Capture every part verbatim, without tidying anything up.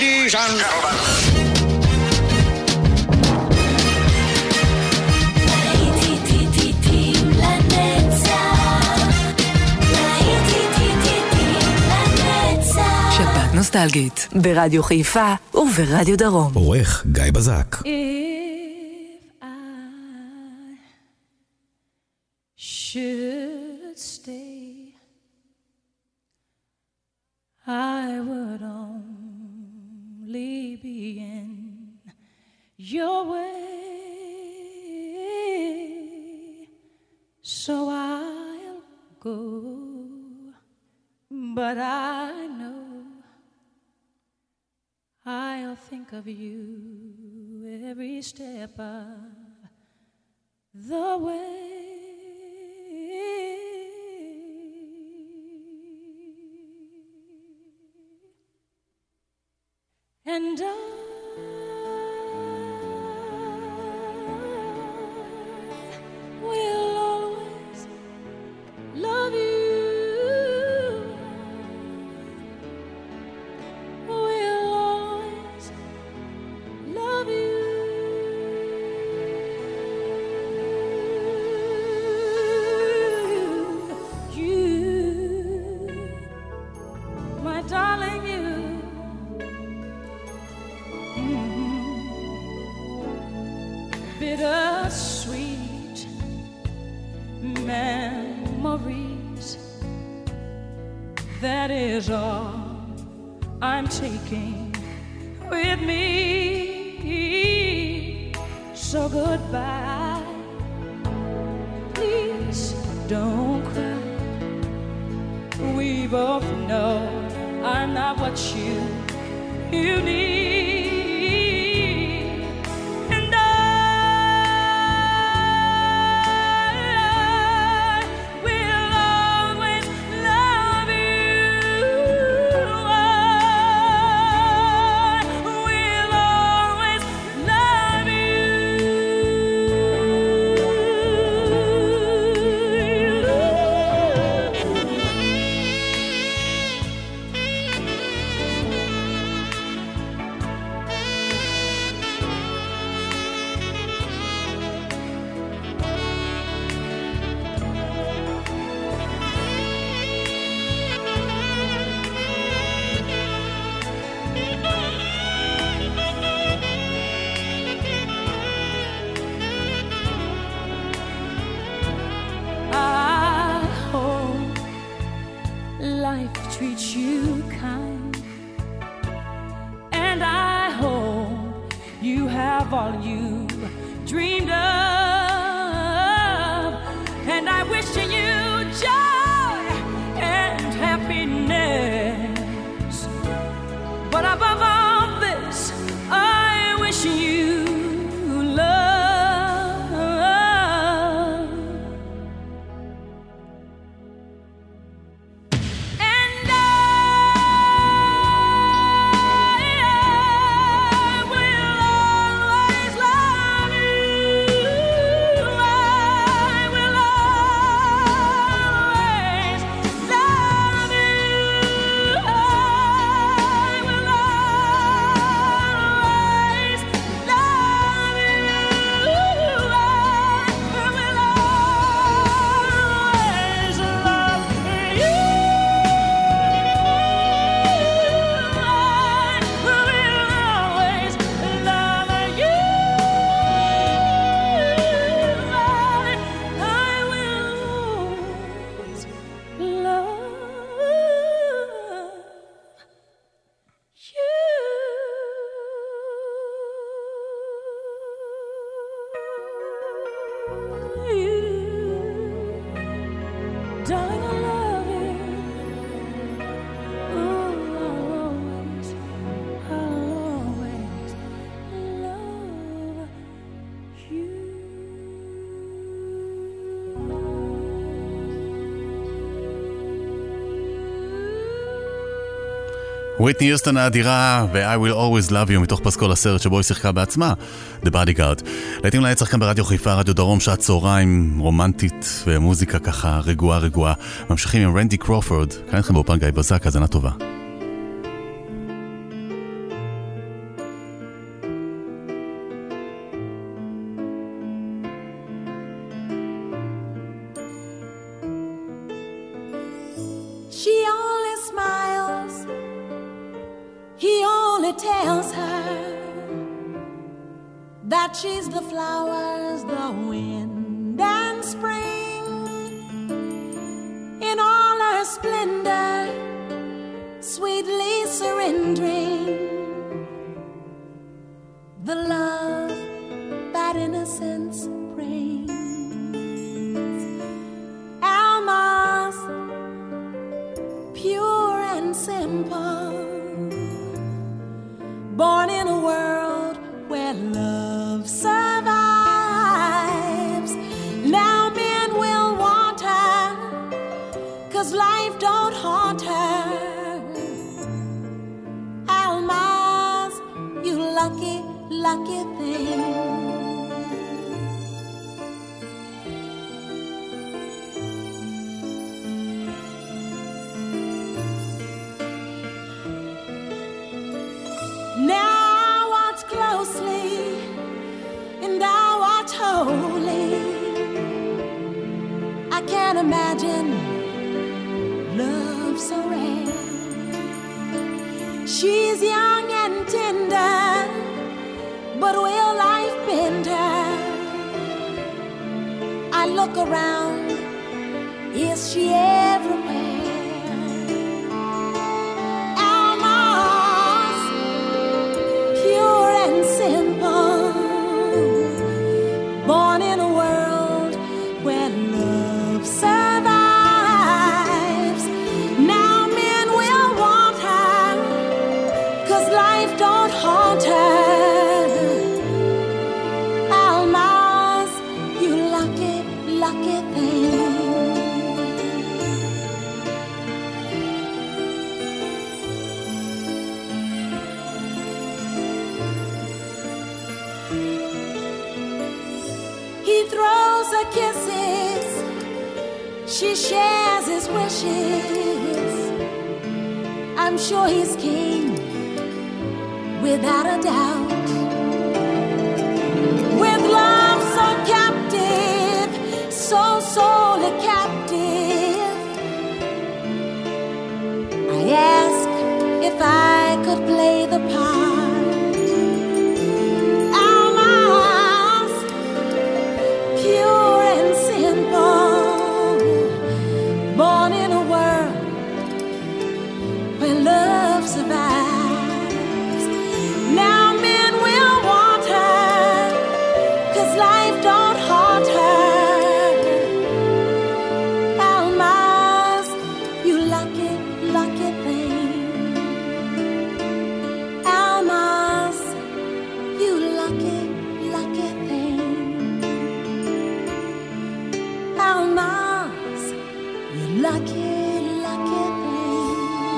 Ladies and gentlemen. שבת נוסטלגית ברדיו חיפה וברדיו דרום. עורך גיא בזק. If I should stay, I would only be in your way, so I'll go, but I know I'll think of you every step of the way. And I will always love you. Bittersweet memories, that is all I'm taking with me. So goodbye, please don't cry. We both know I'm not what you, you need. Treat you kind, and I hope you have all you dreamed of, and I wish you joy and happiness, but above all this I wish you וויטני יוסטון האדירה ו-I will always love you מתוך פסקול הסרט שבו היא שיחקה בעצמה, The Bodyguard. לעתים להצליח כאן ברדיו חיפה, רדיו דרום, שעת צהריים רומנטית ומוזיקה ככה רגועה רגועה. ממשיכים עם רנדי קרופורד, כאן איתכם באופן גיא בזק, האזנה טובה. he only tells her that she's the flowers, the wind and spring in all her splendor, sweetly surrendering the love that innocence brings. Alma's pure and simple, born in a world where love survives. Now men will want her, 'cause life don't haunt her. Alma's, you lucky, lucky thing. Now watch closely and I watch wholly. I can't imagine love so rare. She's young and tender, but will life bend her? I look around, is she everywhere? Alma's pure and simple, born in a world where love survives. Now men will want her, 'cause life don't haunt her. Alma's, you lucky, lucky thing. He throws her kisses, she shares his wishes. I'm sure he's king, without a doubt. With love so captive, so sorely captive, I ask if I could play the part. Alma's pure and simple, born in a world where love survives. Now men will want her, 'cause life don't haunt her. Alma's, you lucky, lucky thing. Alma's, you lucky, lucky thing. Alma's, you lucky, lucky thing.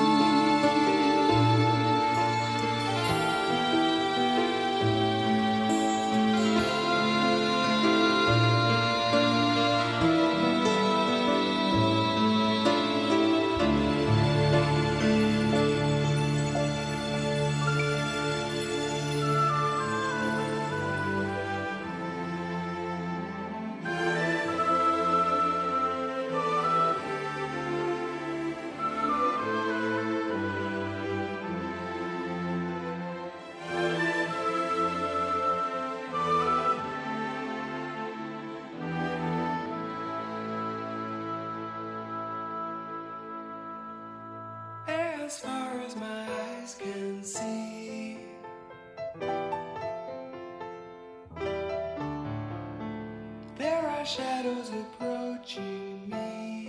As far as my eyes can see, there are shadows approaching me.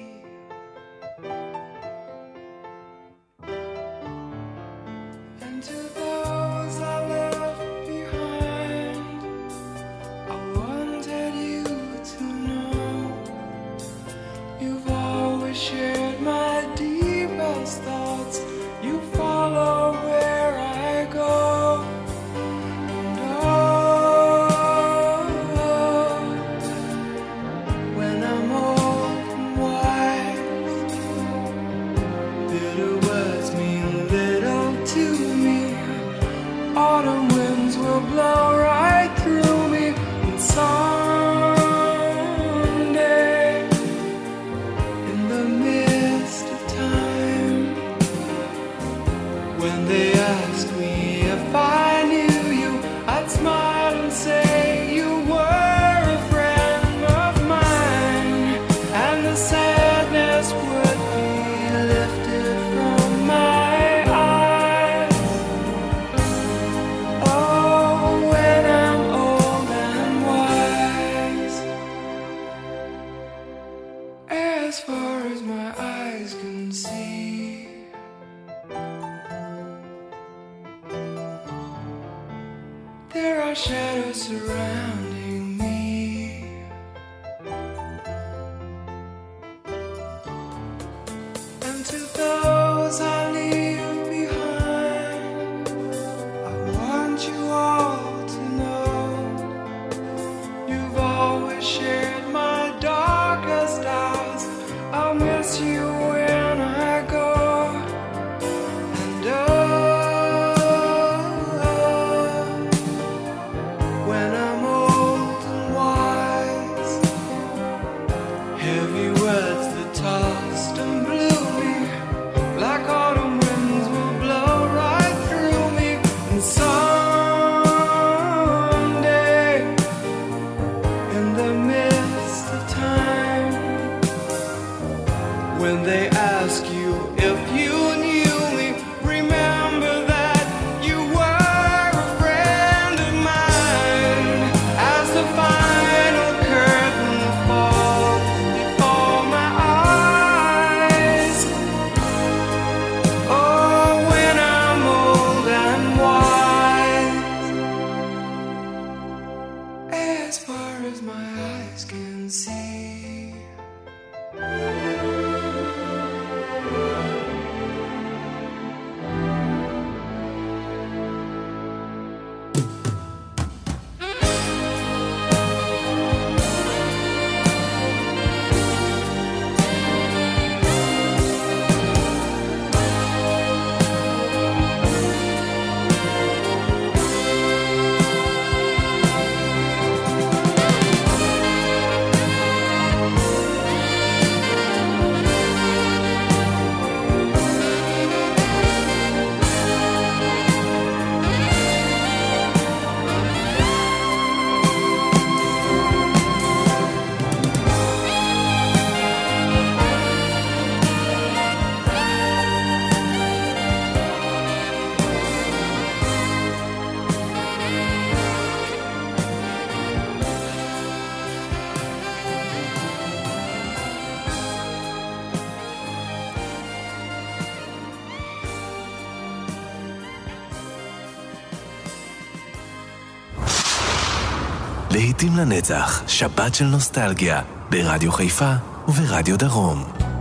And to those I left behind, I wanted you to know you've always shared my deepest thoughts. You follow where I go. And oh, when I'm old and wise, bitter words mean little to me. Autumn winds will blow right through me. And someday, in the midst of time, when they asked me if I knew you, I'd smile and say you were a friend of mine, and the sadness would be lifted from my eyes. Oh, when I'm old and wise, as far as my eyes can see, there are shadows surrounding me, and to those I leave behind, I want you all to know you've always shared my darkest hours. I'll miss you when I go, and oh, when I'm old and wise, heavy words that tossed and blew me like autumn winds will blow right through me. And someday, in the midst of time, when they ask you if you knew me, remember that you were a friend of mine. As the final curtain falls before my eyes, oh, when I'm old and wise, as far as my eyes can see. להיטים לנצח, שבת של נוסטלגיה, ברדיו חיפה וברדיו דרום.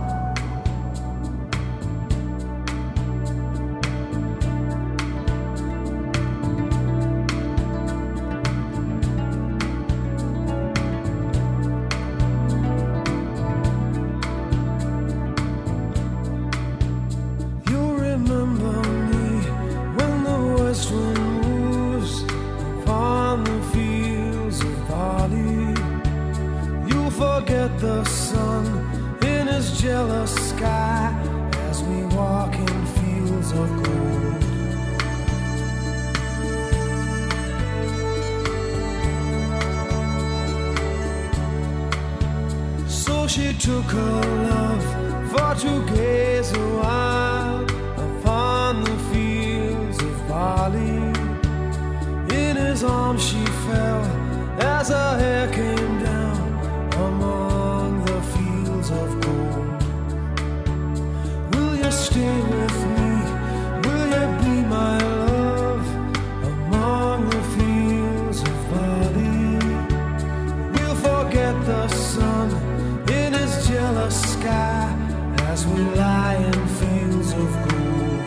She took her love for to gaze a while upon the fields of barley. In his arms she fell as her hair came down among the fields of gold. Will you stay with me? Will you be my love among the fields of barley? We'll forget the sun in his jealous sky as we lie in fields of gold.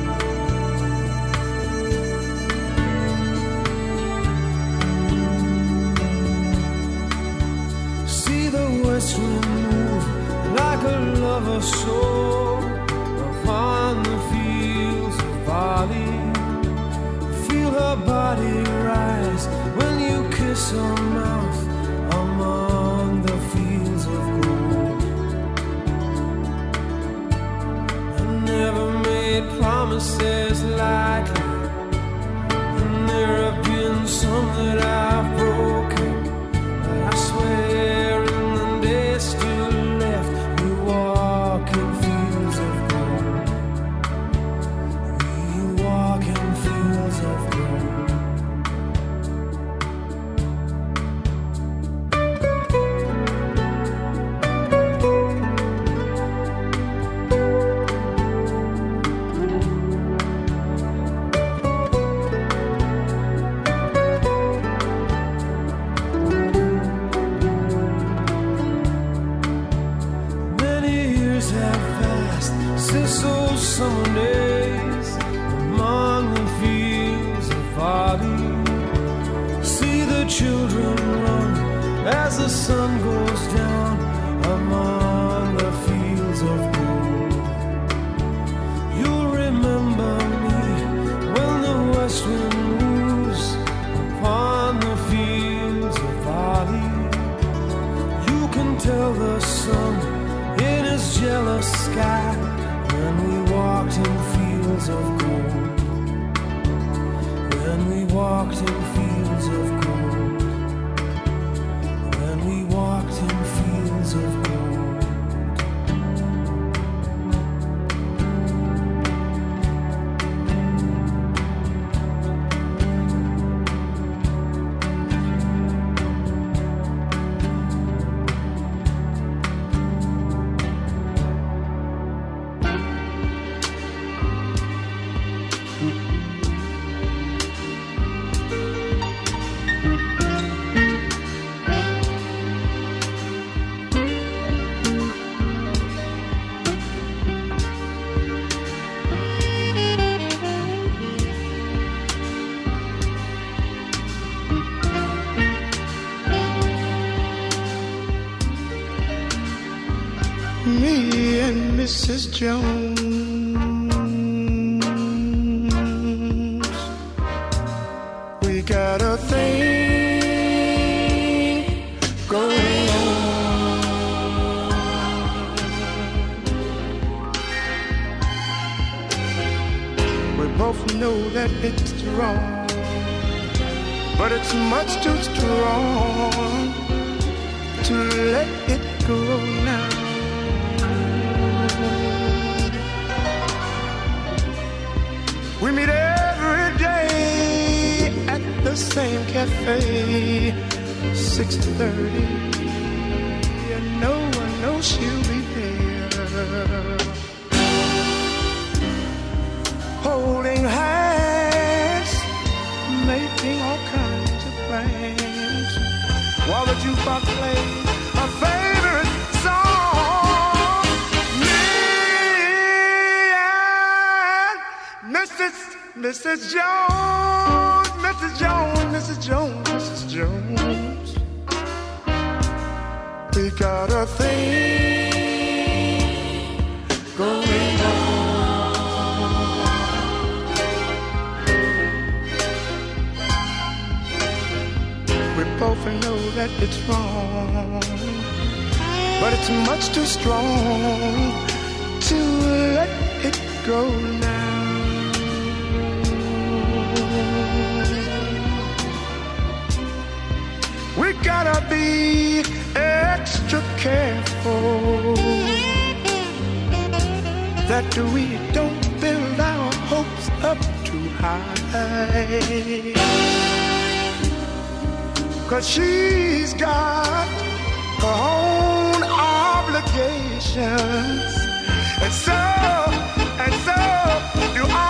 See the west wind move like a lover's soul upon the fields of barley. Feel her body rise when you kiss her mouth among the fields of gold. I never made promises lightly, some that I've broken, but I swear in the days still left, we walk in fields of gold. We walk in fields of gold. Since those summer days among the fields of barley, see the children run as the sun goes down among the fields of gold. You'll remember me when the west wind moves upon the fields of barley. You can tell the sun in his jealous sky when we walked in fields of gold. When we walked in fields of gold. When we walked in fields of gold. Me and Missus Jones, we got a thing going on. We both know that it's wrong, but it's much too strong to let it go now. We meet every day at the same cafe, six thirty, and no one knows she'll be there. Holding hands, making all kinds of plans, while the jukebox plays a favorite song. Me and Missus Missus Jones, Missus Jones, Missus Jones, Missus Jones, we got a thing going on. We both know that it's wrong, but it's much too strong to let it go now. We gotta be extra careful that we don't build our hopes up too high, 'cause she's got her own obligations, and so, and so do I.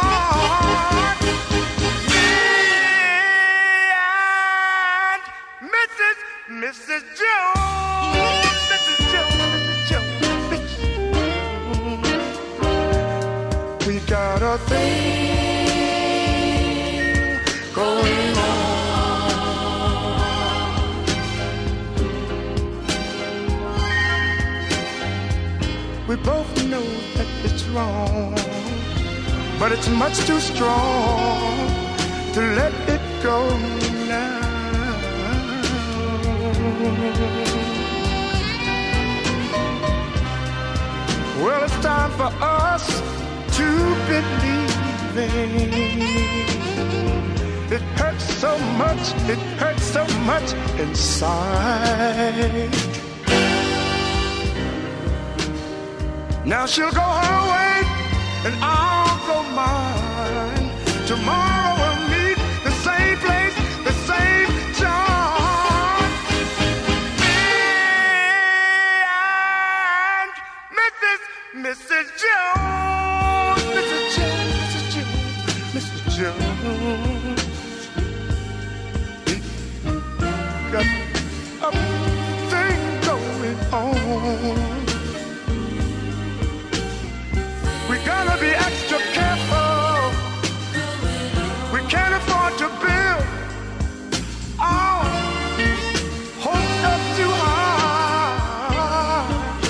Missus Jones, Missus Jones, Missus Jones, Missus Jones, we got a thing going on. We both know that it's wrong, but it's much too strong to let it go now. Well, it's time for us to believe. It hurts so much it hurts so much inside. Now she'll go her way and I'll go mine. Tomorrow we'll meet the same place, the same time. Me and Missus Missus Jones, Missus Jones, Missus Jones, Missus Jones. Got a thing going on. We gotta be extra careful. We can't afford to build our hopes up too high.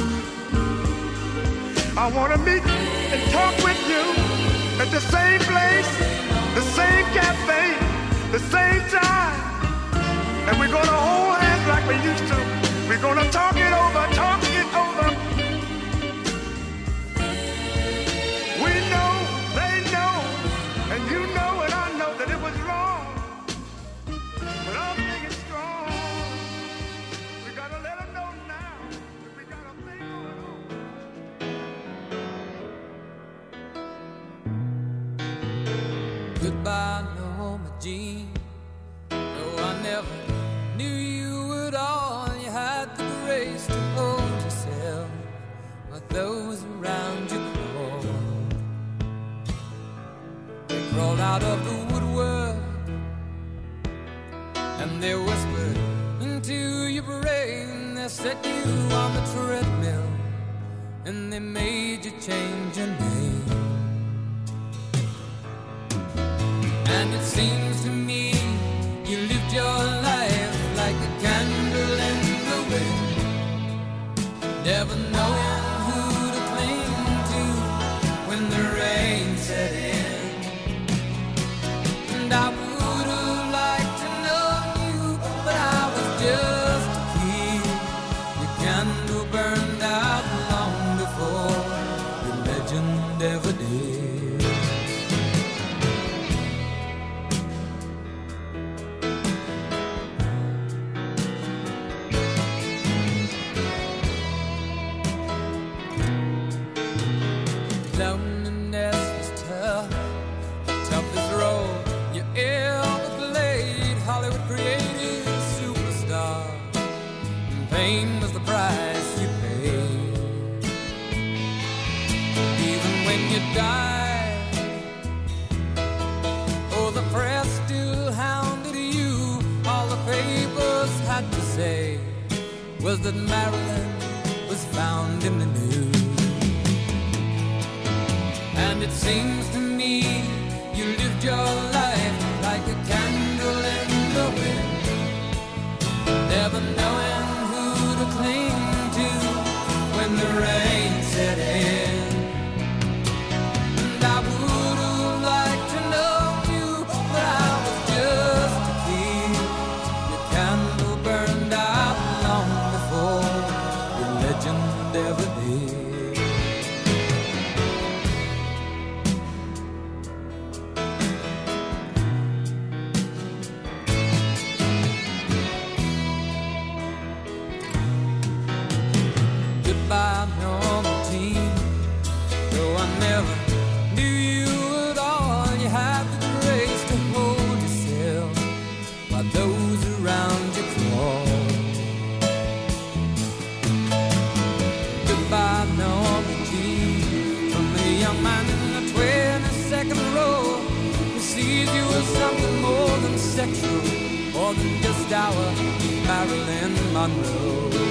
I wanna meet and talk with you at the same place, the same cafe, the same time. And we're gonna hold hands like we used to. We're gonna talk it over, talk it over. We know, they know, and you know and I know that it was wrong. But our thing is strong. We gotta let them know now that we got a thing going on. Goodbye, Norma Jean. No, I never knew you at all. You had the grace to hold yourself while those around you crawled. They crawled out of the woodwork and they whispered into your brain. They set you on the treadmill and they made you change your name. And it seems to me you lived your life like a candle in the wind, never knowing who to cling to when the rain set in. And I would have liked to know you, but I was just a kid. Your candle burned out long before your legend ever did. Loneliness was tough, the toughest role you ever played. Hollywood created a superstar, and pain was the price you paid. Even when you died, oh, the press still hounded you. All the papers had to say was that Marilyn was found in the news. And it seems to me you lived your life like a candle in the wind, never knowing who to cling to when the rain set in. And I would have liked to know you, but I was just a kid. Your candle burned out long before your legend ever did. Goodbye, Norma Jean. Though I never knew you at all, you had the grace to hold yourself while those around you crawled. Goodbye, Norma Jean. From the young man in the twenty-second row who sees you as something more than sexual, more than just our Marilyn Monroe.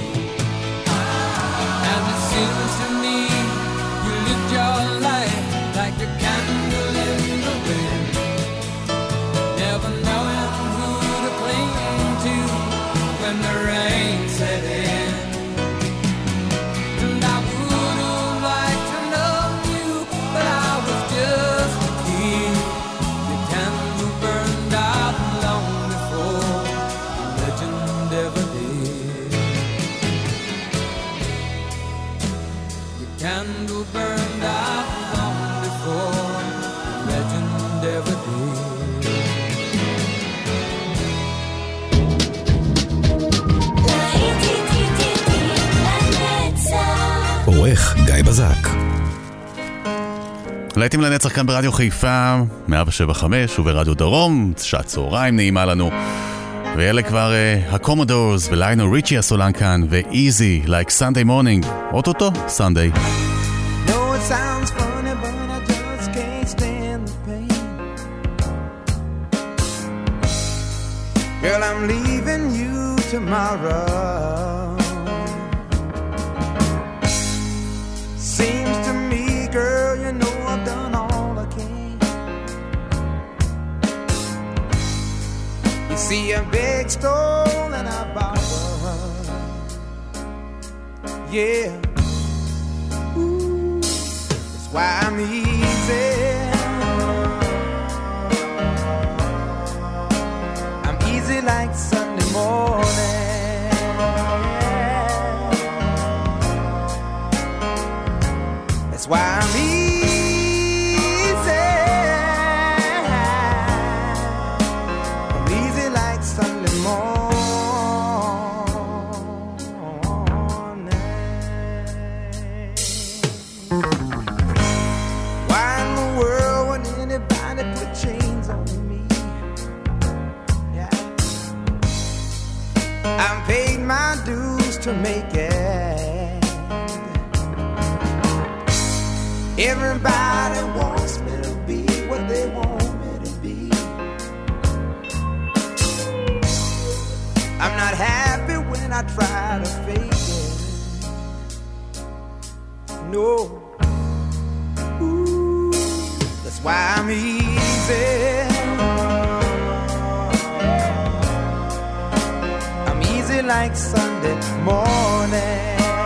And it seems to me you lived your life like a candle in the wind, never knowing who to cling to when the rain set in. And I would have liked to know you, but I was just a kid. Your candle burned out long before the legend ever did. גיא בזק. להיטים לנצח כאן ברדיו חיפה, מאה שבע חמש וברדיו דרום, שעת צהריים נעימה לנו. ואלה כבר uh, הקומודורס וליינו ריצ'י הסולן כאן, ו-Easy, like Sunday morning, אוטוטו, Sunday. No, it sounds funny, but I just can't stand the pain. Girl, I'm leaving you tomorrow. Seems to me, girl, you know I've done all I can. You see a big stone and I borrow. Yeah. Ooh, that's why I'm easy. I'm easy like Sunday morning. That's why I'm easy. I'm easy like Sunday morning. Why in the world would anybody put chains on me? Yeah. I've paid my dues to make it. Everybody wants me to be what they want me to be. I'm not happy when I try to fake it. No. Ooh, that's why I'm easy. I'm easy like Sunday morning.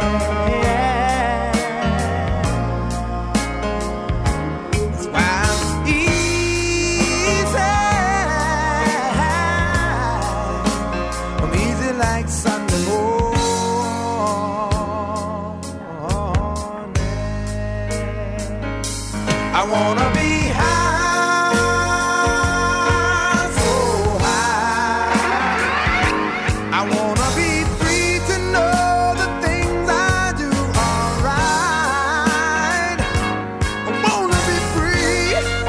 I wanna be high, so high. I wanna be free to know the things I do are right. I wanna be free,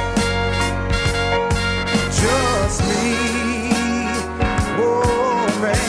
just me, oh man.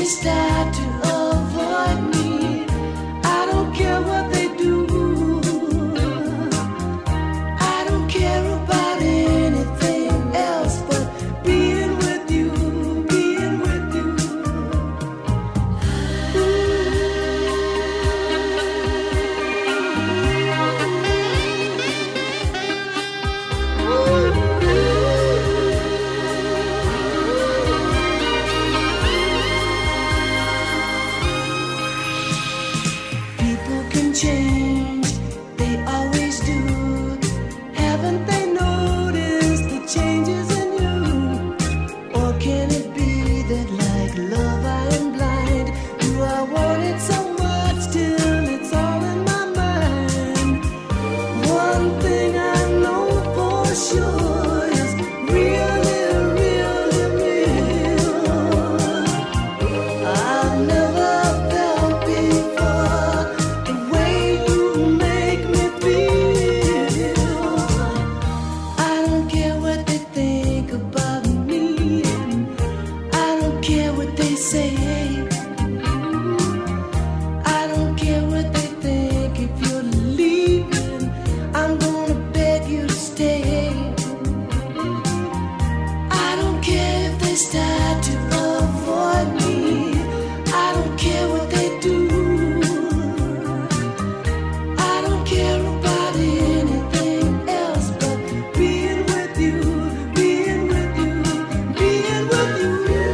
start to avoid me, I don't care what they do. I don't care about anything else but being with you, being with you. People can change, they always do. Haven't they noticed the changes in you? Or can it be that like love I am blind? Do I want it so much till it's all in my mind? One thing I know for sure is really, really real. I've never felt before the way you make me feel. I don't care what they think about me. I don't care what they say. I don't care what they think. If you're leaving, I'm gonna beg you to stay. I don't care if they start to avoid me. I don't care what they do. I don't care about anything else but being with you, being with you, being with you,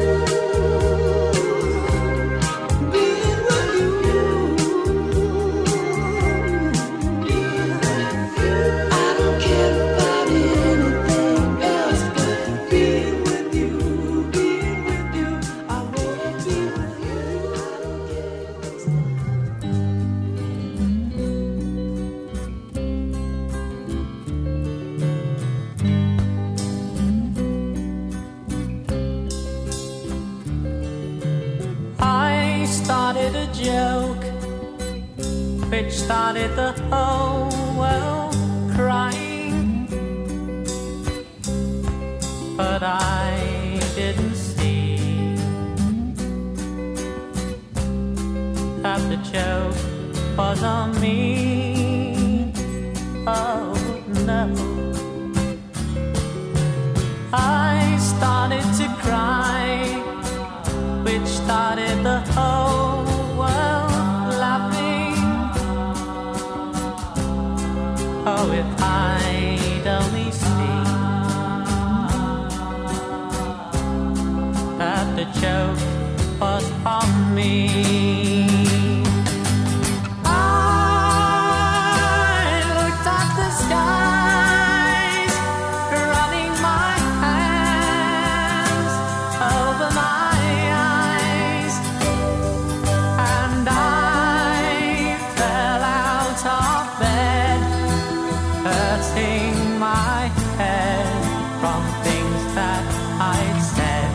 being with you. I don't care about anything else but being with you, being with you. I wanna be with you. I don't care. I started a joke which started the whole world crying, but I didn't see that the joke was on me. Oh no, I started to cry, which started the whole world laughing. Oh, if I'd only seen that the joke was on me. I looked at the skies, running my hands over my eyes, and I fell out of bed, hurting my head from things that I'd said,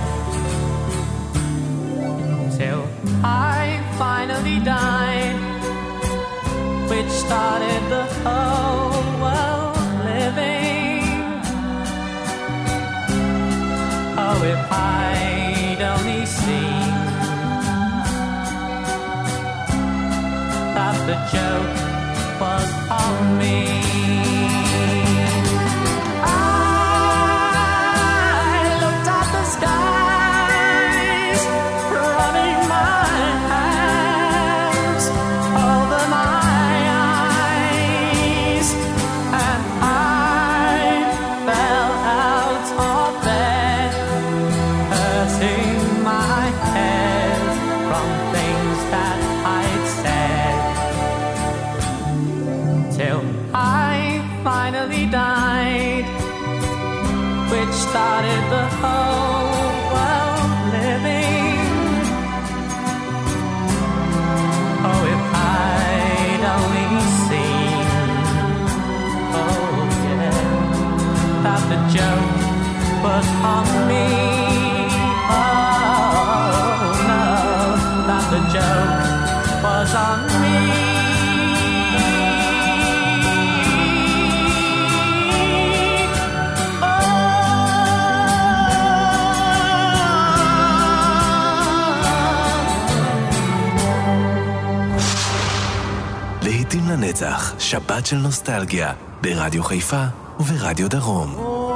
till I finally died, which started the whole world living. Oh, if I'd only seen that the joke was on me. I looked at the skies, running my hands over my eyes, and I fell out of bed, hurting my head from things that I'd said, till I finally died, which started the whole world living. Oh, if I'd only seen, oh yeah, that the joke was on me. Oh no, that the joke was on me. Oh לנצח, שבת של נוסטלגיה, ברדיו חיפה וברדיו דרום.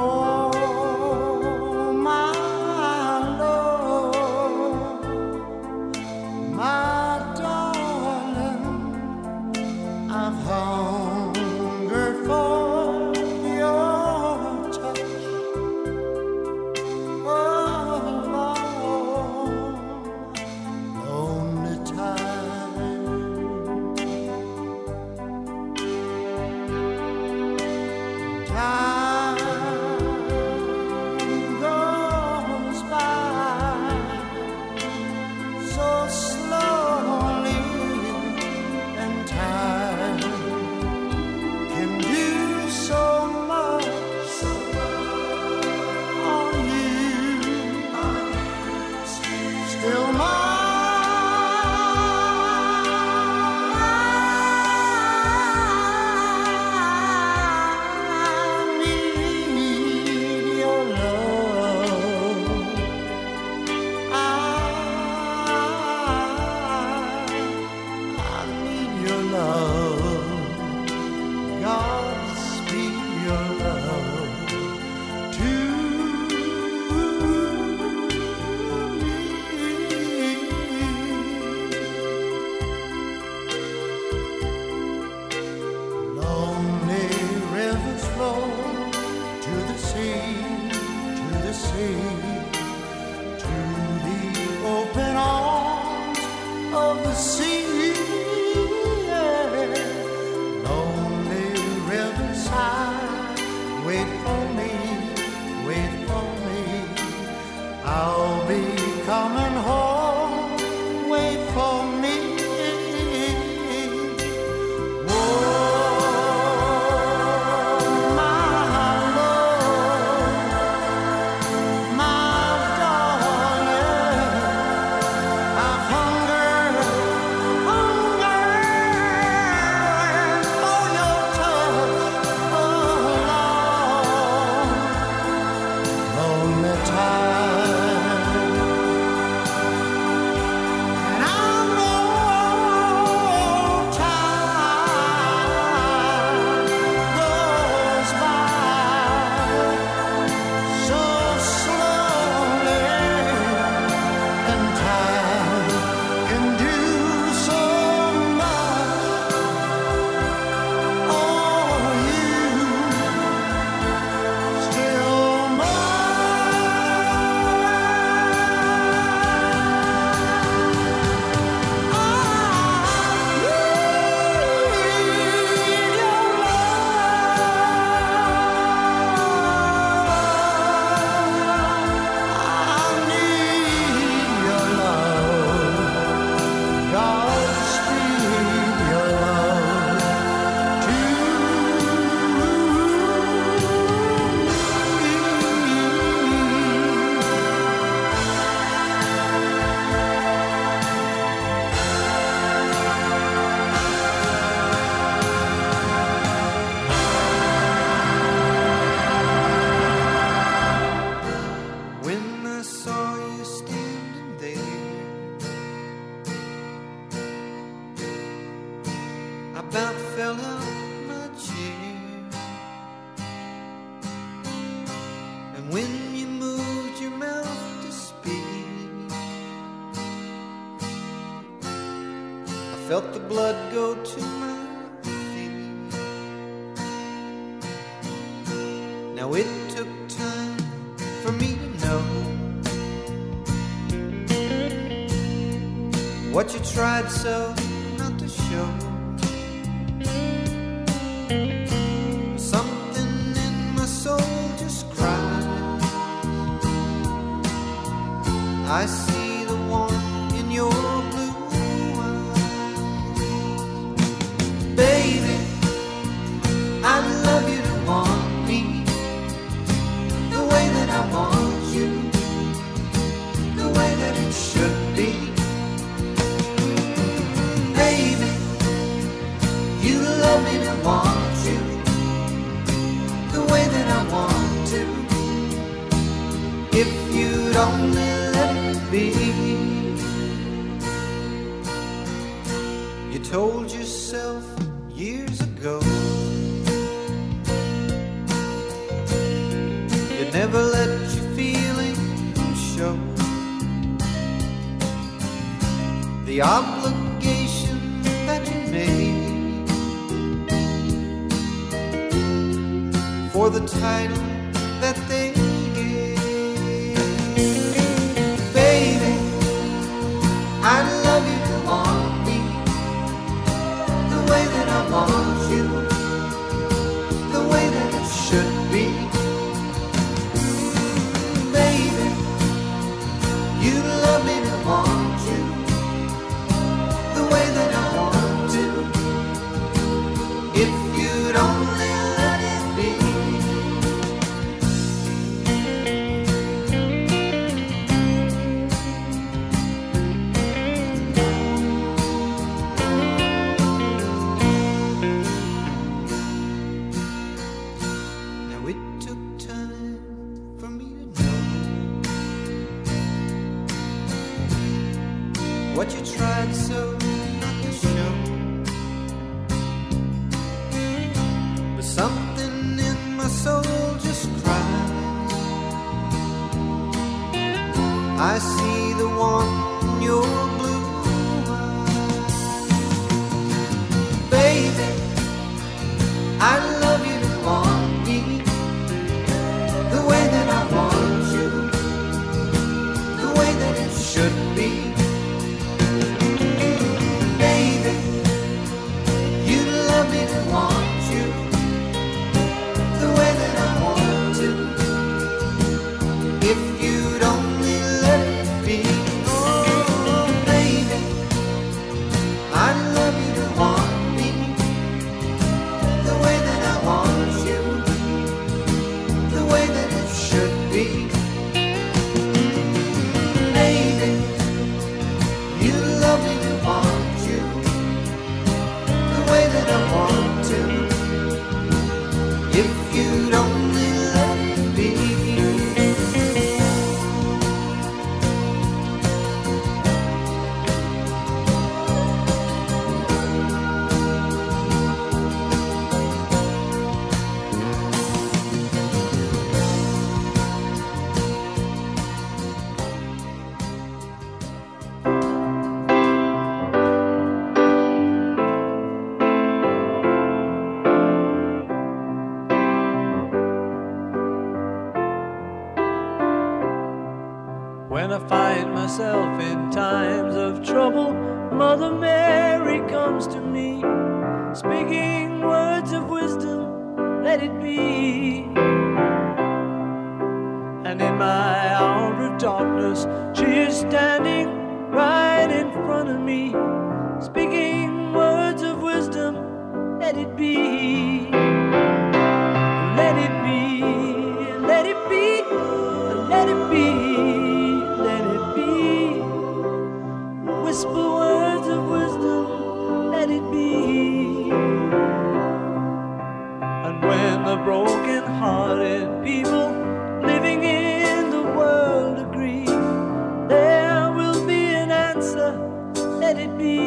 Felt the blood go to my feet. Now it took time for me to know what you tried so not to show. Something in my soul just cried. I see the warmth in your blue eyes. Baby, I'd love you to want me the way that I want you, the way that it should be. Baby, you love me to want you the obligation that you made for the title that they gave. Baby, I love you to want me the way that I want you, the way that it should be. Baby, you love me to want you the way that I want to, if you'd only let it be. Now it took time for me to know what you tried so not to show, but something in my soul just cried. I see the one in your blue eyes. Baby, I love you to want me the way that I want you, the way that it should be. Baby, you love me to want you the way that I want to, if you'd only let it be. Oh, baby, I love you to want me the way that I want you, the way that it should be. Baby, you love me to want you the way that I want to, if you'd only let it be. When I find myself in times of trouble, Mother Mary comes to me, speaking words of wisdom, let it be. And in my hour of darkness, she is standing right in front of me, speaking words of wisdom, let it be. Let it be, let it be, let it be. Whisper words of wisdom, let it be. And when the broken-hearted people living in the world agree, there will be an answer, let it be.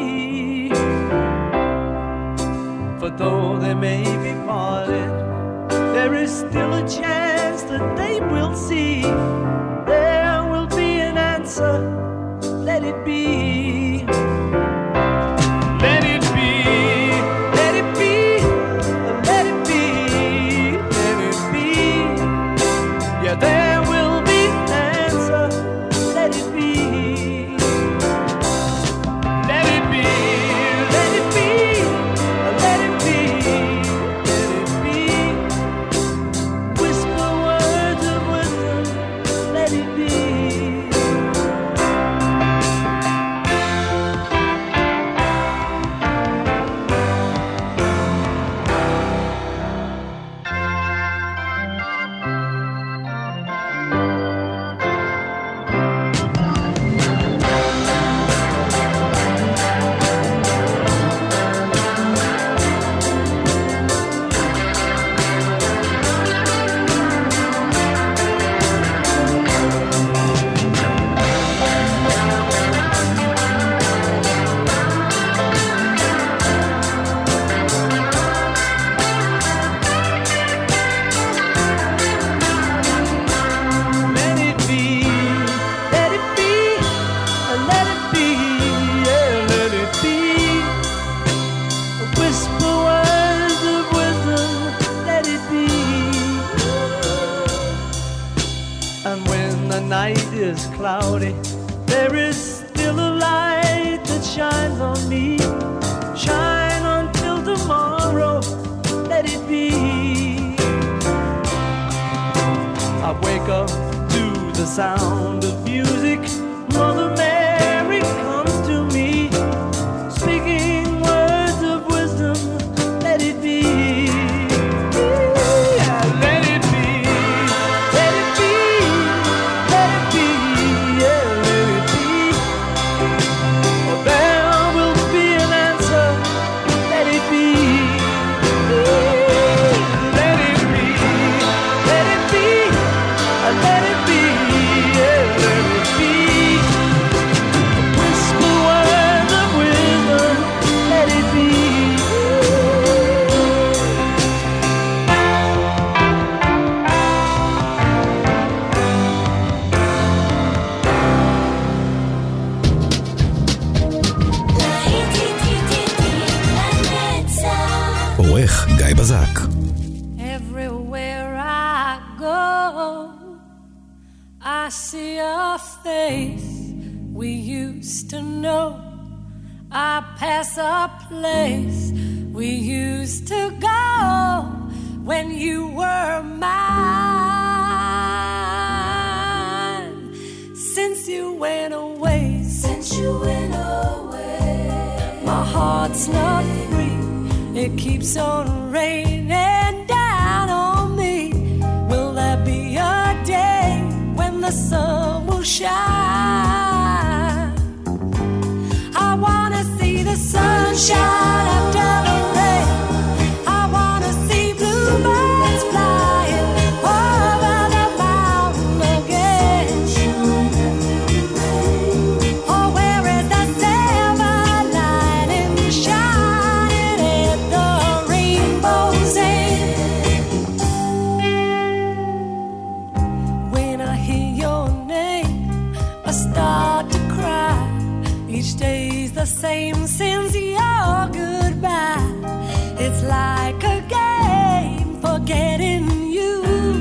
For though they may be parted, there is still a chance that they will see. There will be an answer, let it be. Let it be, let it be, let it be, let it be. Yeah, there will be an answer, let it be. Let it be, let it be, let it be, let it be. Whisper words of wisdom, let it be. is cloudy, there is still a light that shines on me. Shine until tomorrow, let it be. I wake up to the sound of music. Mother Mary comes to me, speaking words of wisdom, let it be. Yeah, let it be, let it be, let it be, yeah, let it be. For there will be an answer, let it be. Let it be, let it be, let it be, yeah, let it be. Whisper words of wisdom, let it be. עורך גיא בזק. Everywhere I go, I see a face we used to know. I pass a place we used to go when you were mine. Since you went away, since you went away, my heart's not free. It keeps on raining down on me. Will there be a day when the sun will shine? I wanna see the sunshine after the rain. I wanna see bluebirds flying over the mountain again. Oh, where is the silver lining shining at the rainbow's end? When I hear your name, I start to cry. Each day's the same since your goodbye. It's like a game forgetting you.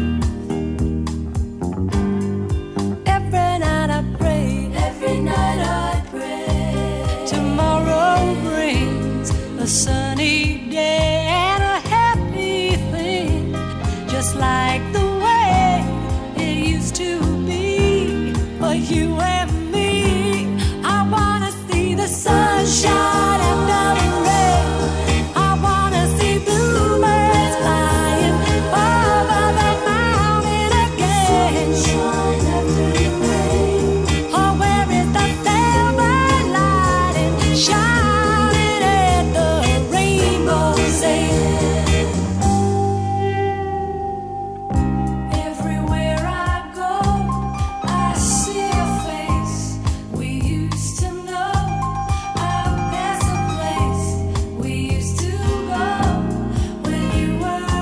Every night I pray, every night I pray. Tomorrow brings a sunny day and a happy thing, just like the way it used to be for you and me. I wanna see the sunshine after the rain. I wanna see bluebirds flying over the mountain again. Oh, where is the silver lining shining at the rainbow's end? Everywhere I go, I see a face we used to know. I pass a place we used to go when you were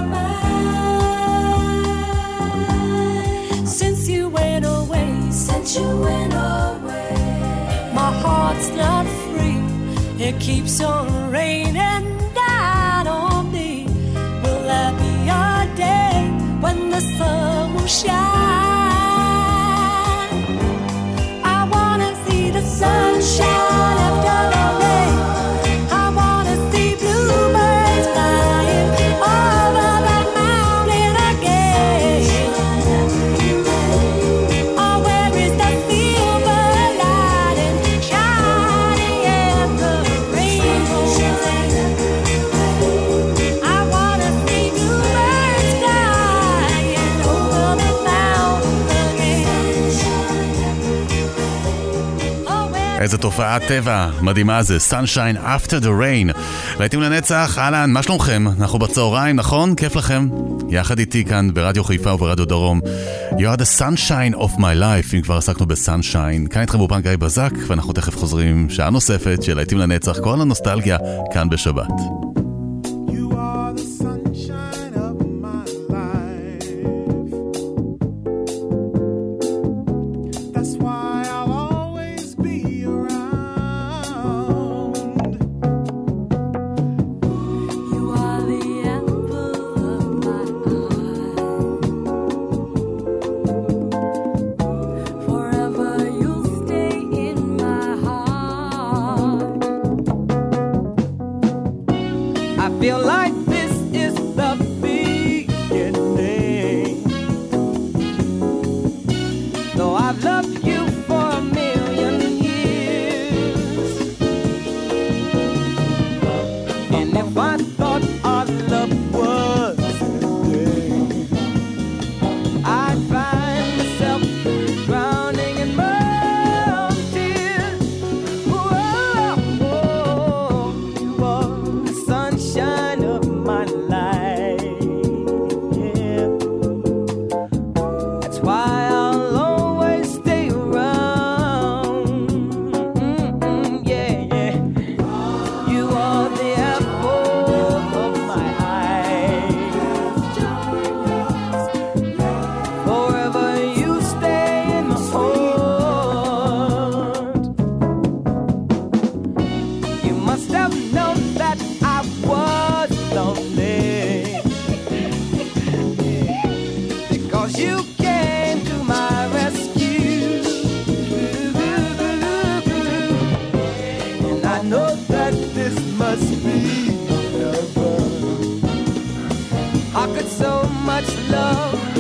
mine. Since you went away, since you went away, my heart's not free. It keeps on raining down on me. Will there be a day when the sun will shine? I wanna see the sunshine after the rain. I wanna see bluebirds flying over the mountain again. Oh, where is the silver lining shining at the rainbow's end? I wanna see bluebirds flying over the mountain again. Oh, where איזה תופעת טבע מדהימה זה, Sunshine After the Rain. להיטים לנצח, אהלן, מה שלומכם? אנחנו בצהריים, נכון? כיף לכם? יחד איתי כאן ברדיו חיפה וברדיו דרום. You are the sunshine of my life, אם כבר עסקנו בסנשיין. כאן איתכם באופן גיא בזק, ואנחנו תכף חוזרים שעה נוספת של להיטים לנצח, כל הנוסטלגיה כאן בשבת. You are the sunshine of my life. That's why I'll always be around. you are the apple of my eye. Forever feel like this is the beginning. Though I've loved you for a million years, and if I thought our love was ending, I'd find myself drowning in my own tears. Whoa, whoa, you are the sunshine of my life. Yeah. That's why I'll always stay around. Mm-mm, yeah, yeah. You are the apple of my eye. Forever you stay in my heart. You must have known that I was lonely, because you came to my rescue. And I know that this must be heaven. How could so much love